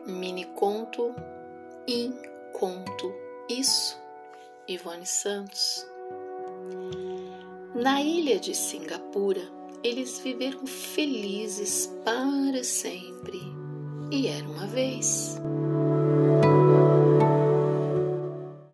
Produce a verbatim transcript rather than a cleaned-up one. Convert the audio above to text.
Mini conto, in conto, isso, Ivone Santos. Na ilha de Singapura, eles viveram felizes para sempre. E era uma vez.